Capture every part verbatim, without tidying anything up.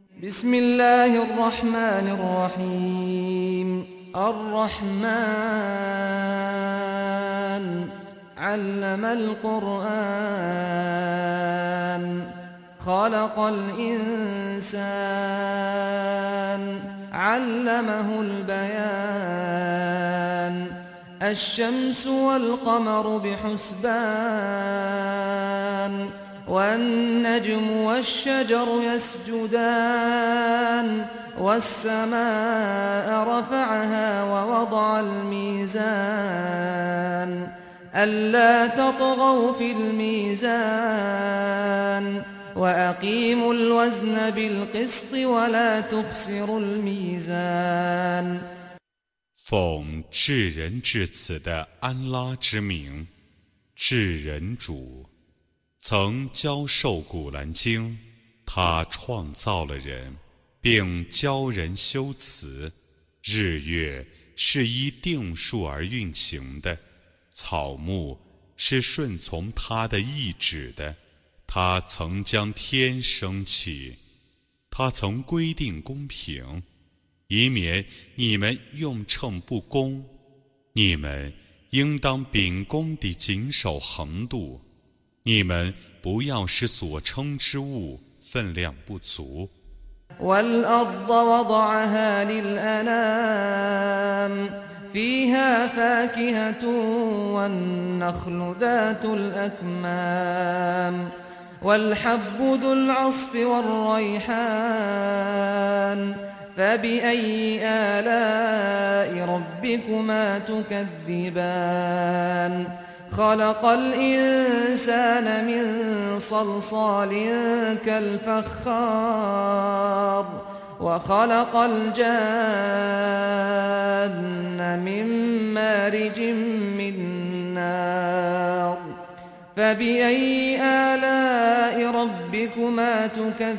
بسم الله الرحمن الرحيم الرحمن علم القرآن خلق الإنسان علمه البيان الشمس والقمر بحسبان والنجم والشجر يسجدان والسماء رفعها ووضع الميزان ألا تطغوا في الميزان وأقيموا الوزن بالقسط ولا تخسروا الميزان 奉至仁至慈的安拉之名，至仁主曾教授古兰经，他创造了人，并教人修辞。日月是依定数而运行的，草木是顺从他的意志的。他曾将天升起，他曾规定公平，以免你们用秤不公。你们应当秉公地谨守衡度，你们不要使所称之物分量不足。 والأرض وضعها للأنام فيها فاكهة والنخل ذات الأكمام والحب ذو العصف والريحان فبأي آلاء ربكما تكذبان خلق الإنسان من صلصال كالفخار وخلق الجان من مارج من نار فبأي آلاء ربكما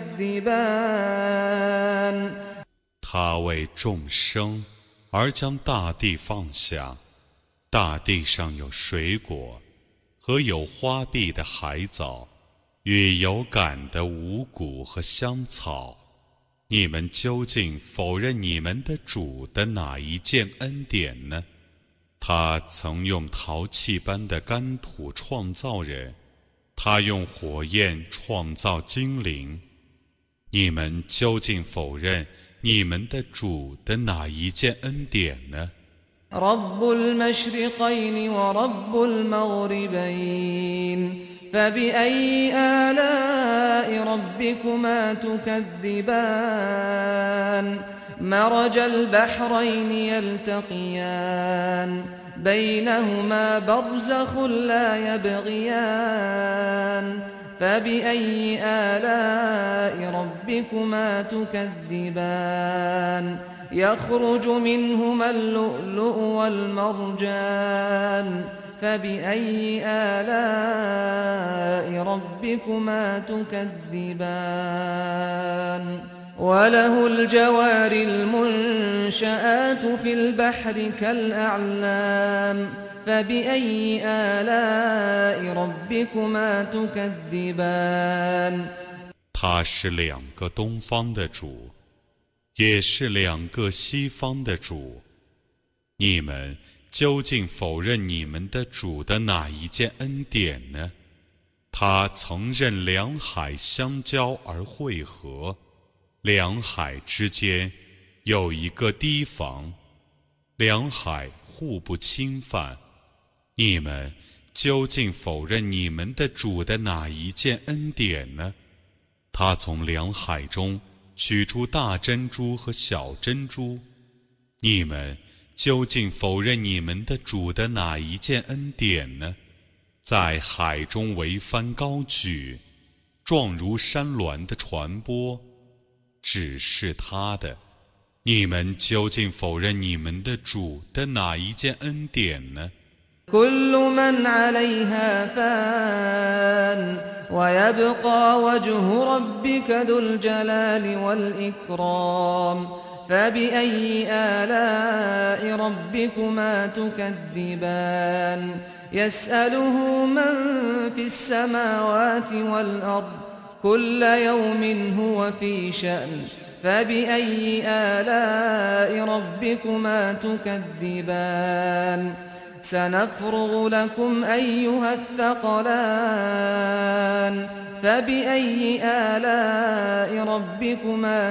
تكذبان 他为众生而将大地放下，大地上有水果和有花碧的海藻，与有感的五谷和香草。你们究竟否认你们的主的哪一件恩典呢？他曾用陶器般的干土创造人，他用火焰创造精灵。你们究竟否认你们的主的哪一件恩典呢？ رب المشرقين ورب المغربين فبأي آلاء ربكما تكذبان مرج البحرين يلتقيان بينهما برزخ لا يبغيان فبأي آلاء ربكما تكذبان يخرج منهما اللؤلؤ والمرجان فبأي آلاء ربكما تكذبان وله الجوار المنشآت في البحر كالأعلام فبأي آلاء ربكما تكذبان 他是两个东方的主，也是两个西方的主。你们究竟否认你们的主的哪一件恩典呢？他曾任两海相交而汇合，两海之间有一个堤防，两海互不侵犯。你们究竟否认你们的主的哪一件恩典呢？他从两海中取出大珍珠和小珍珠。你们究竟否认你们的主的哪一件恩典呢？在海中桅帆高举，状如山峦的船舶，只是他的。你们究竟否认你们的主的哪一件恩典呢？ كل من عليها فان ويبقى وجه ربك ذو الجلال والإكرام فبأي آلاء ربكما تكذبان يسأله من في السماوات والأرض كل يوم هو في شأن فبأي آلاء ربكما تكذبان سنفرغ لكم أيها الثقلان فبأي آلاء ربكما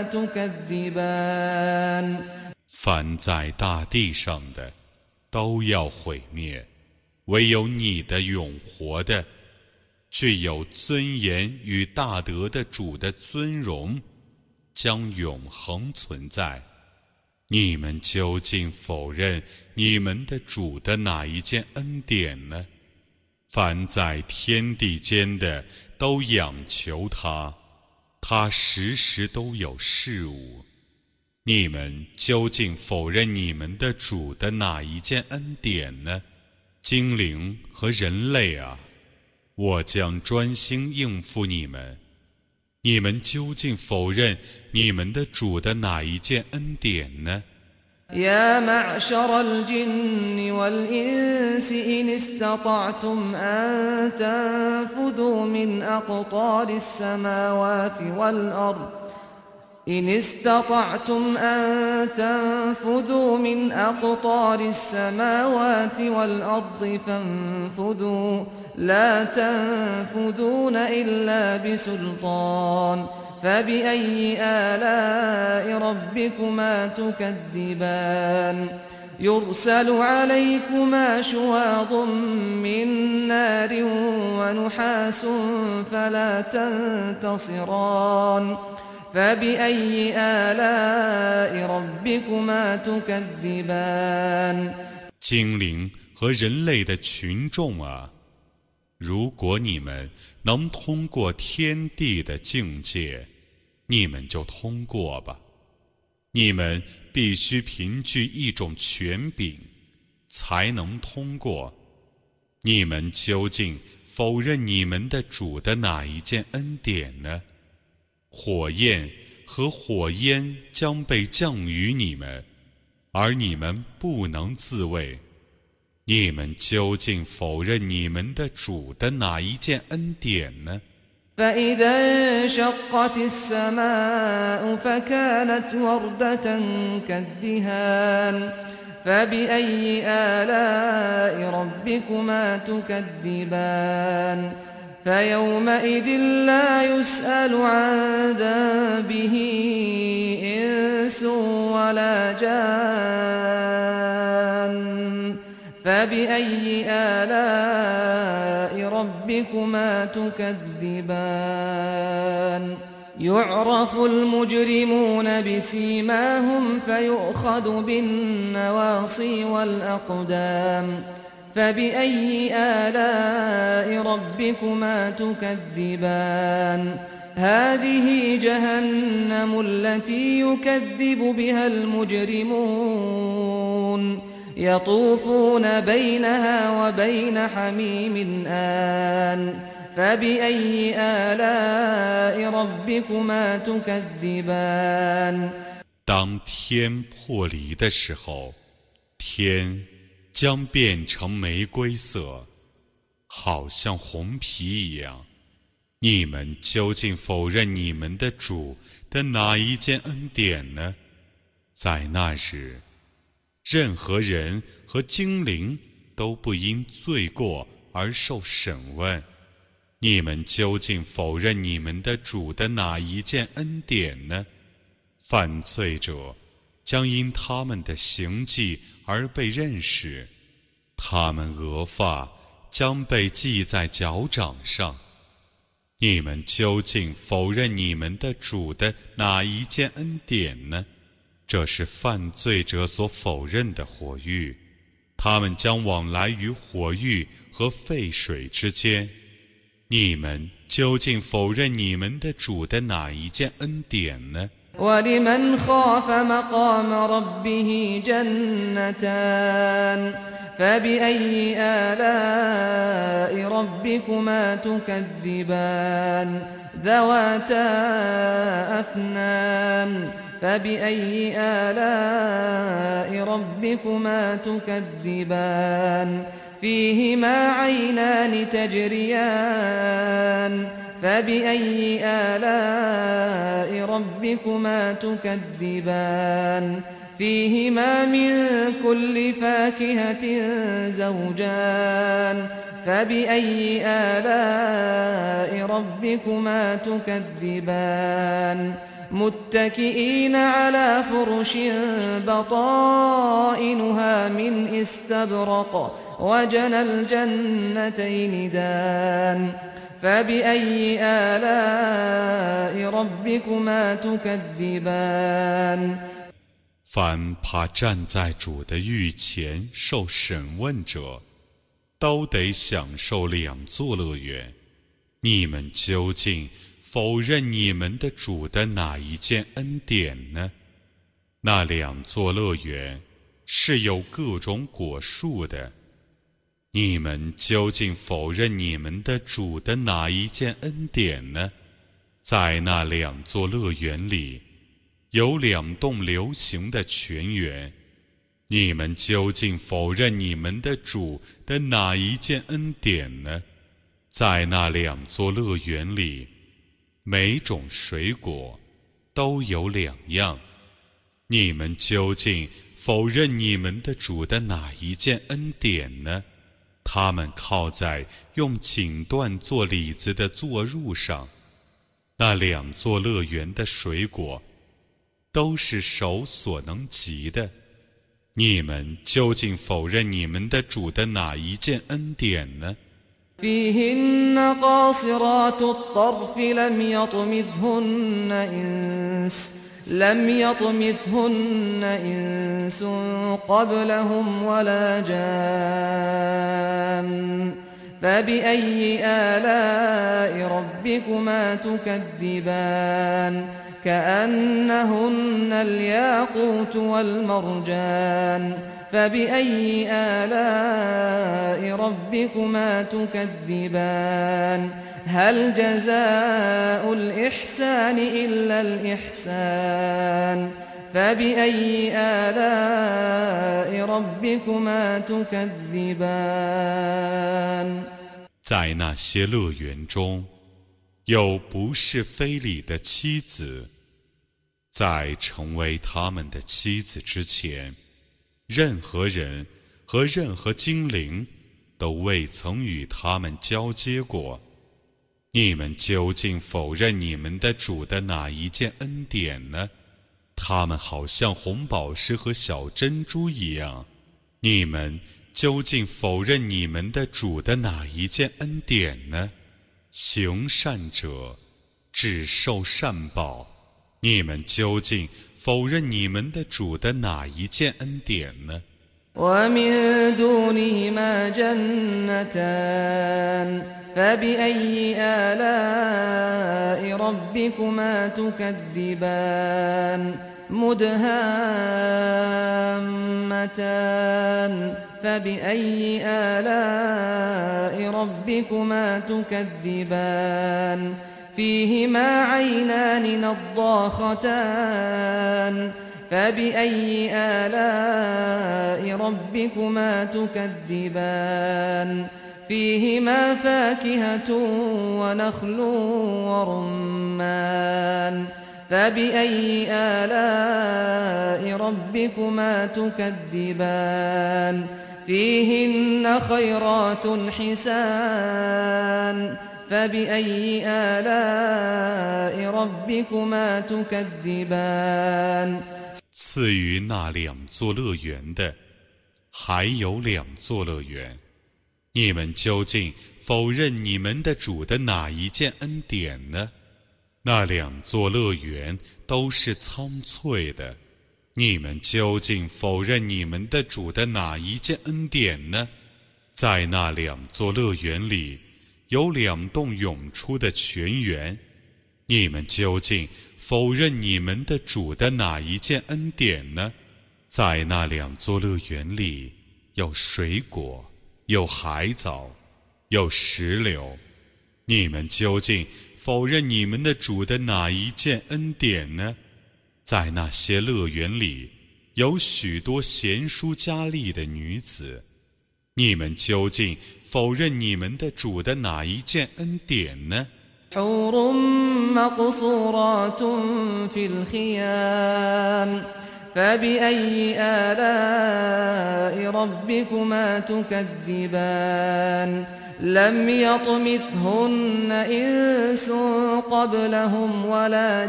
تكذبان 凡在大地上的都要毁灭，唯有你的永活的、具有尊严与大德的主的尊荣将永恒存在。你们究竟否认你们的主的哪一件恩典呢？凡在天地间的都仰求他，他时时都有事物。你们究竟否认你们的主的哪一件恩典呢？精灵和人类啊，我将专心应付你们。你们究竟否认你们的主的哪一件恩典呢？ يا معشر الجن والإنس إن استطعتم أن تنفذوا من أقطار السماوات والأرض إن استطعتم أن تنفذوا من أقطار السماوات والأرض فانفذوا لا تنفذون إلا بسلطان فبأي آلاء ربكما تكذبان يرسل عليكما شواظ من نار ونحاس فلا تنتصران فبأي آلاء ربكما تكذبان 精灵和人类的群众啊，如果你们能通过天地的境界，你们就通过吧。你们必须凭据一种权柄才能通过。你们究竟否认你们的主的哪一件恩典呢？火焰和火焰将被降于你们，而你们不能自卫。你们究竟否认你们的主的哪一件恩典呢？ فإذا انشقت السماء فكانت وردة كالدهان فبأي آلاء ربكما تكذبان فيومئذ لا يسأل عن ذنبه إنس ولا جان فبأي آلاء ربكما تكذبان يعرف المجرمون بسيماهم فيؤخذ بالنواصي والأقدام فبأي آلاء ربكما تكذبان هذه جهنم التي يكذب بها المجرمون يطوفون بينها وبين حميم آن فبأي آلاء ربكما تكذبان 当天破离的时候，天将变成玫瑰色，好像红皮一样。你们究竟否认你们的主的哪一件恩典呢？在那日，任何人和精灵都不因罪过而受审问。你们究竟否认你们的主的哪一件恩典呢？犯罪者将因他们的行迹而被认识，他们额发将被系在脚掌上。你们究竟否认你们的主的哪一件恩典呢？这是犯罪者所否认的火狱，他们将往来于火狱和沸水之间。你们究竟否认你们的主的哪一件恩典呢？ ولمن خاف مقام ربه جنتان فبأي آلاء ربكما تكذبان ذواتا أفنان فبأي آلاء ربكما تكذبان فيهما عينان تجريان فبأي آلاء ربكما تكذبان فيهما من كل فاكهة زوجان فبأي آلاء ربكما تكذبان متكئين على فرش بطائنها من استبرق وجنى الجنتين دان فبأي آلاء ربكما تكذبان 凡怕站在主的御前受审问者，都得享受两座乐园。你们究竟否认你们的主的哪一件恩典呢？那两座乐园是有各种果树的。你们究竟否认你们的主的哪一件恩典呢？在那两座乐园里，有两栋流行的泉源。你们究竟否认你们的主的哪一件恩典呢？在那两座乐园里，每种水果都有两样。你们究竟否认你们的主的哪一件恩典呢？他们靠在用锦缎做李子的坐褥上，那两座乐园的水果都是手所能及的。你们究竟否认你们的主的哪一件恩典呢？ فيهن قاصرات الطرف لم يطمثهن إنس لم يطمثهن إنس قبلهم ولا جان فبأي آلاء ربكما تكذبان كأنهن الياقوت والمرجان فبأي آلاء ربكما تكذبان هل جزاء الإحسان إلا الإحسان فبأي آلاء ربكما تكذبان 在那些乐园中，有不是非礼的妻子，在成为他们的妻子之前，任何人和任何精灵都未曾与他们交接过。你们究竟否认你们的主的哪一件恩典呢？他们好像红宝石和小珍珠一样。你们究竟否认你们的主的哪一件恩典呢？行善者只受善报。你们究竟否认你们的主的哪一件恩典呢？ ومن دونهما جنتان فبأي آلاء ربكما تكذبان مدهامتان فبأي آلاء ربكما تكذبان فيهما عينان نضاختان فبأي آلاء ربكما تكذبان فيهما فاكهة ونخل ورمان فبأي آلاء ربكما تكذبان فيهن خيرات حسان فبأي آلاء ربكما تكذبان 赐予那两座乐园的，还有两座乐园。你们究竟否认你们的主的哪一件恩典呢？那两座乐园都是苍翠的。你们究竟否认你们的主的哪一件恩典呢？在那两座乐园里，有两栋涌出的泉源。你们究竟否认你们的主的哪一件恩典呢？在那两座乐园里，有水果，有海藻，有石榴。你们究竟否认你们的主的哪一件恩典呢？在那些乐园里，有许多贤淑佳丽的女子。你们究竟否认你们的主的哪一件恩典呢？ حور مقصورات في الخيام فبأي آلاء ربكما تكذبان لم يطمثهن إنس قبلهم ولا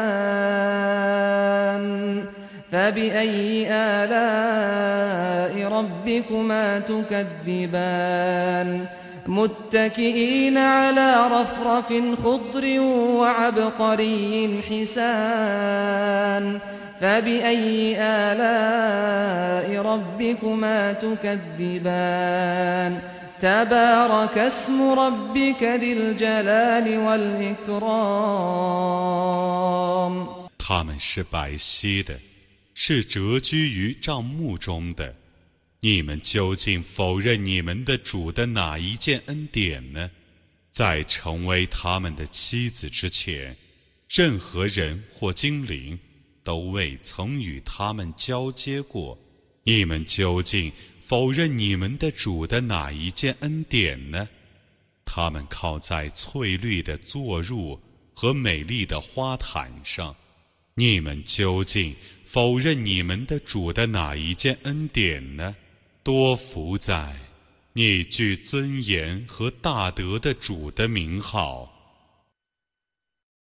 جان فبأي آلاء ربكما تكذبان متكئين على رفرف خضر وعبقري حسان فبأي آلاء ربكما تكذبان تبارك اسم ربك ذي الجلال والإكرام 他们是白皙的，是蛰居于帐幕中的。你们究竟否认你们的主的哪一件恩典呢？在成为他们的妻子之前，任何人或精灵都未曾与他们交接过。你们究竟否认你们的主的哪一件恩典呢？他们靠在翠绿的坐褥和美丽的花毯上。你们究竟否认你们的主的哪一件恩典呢？多福在你具尊严和大德的主的名号。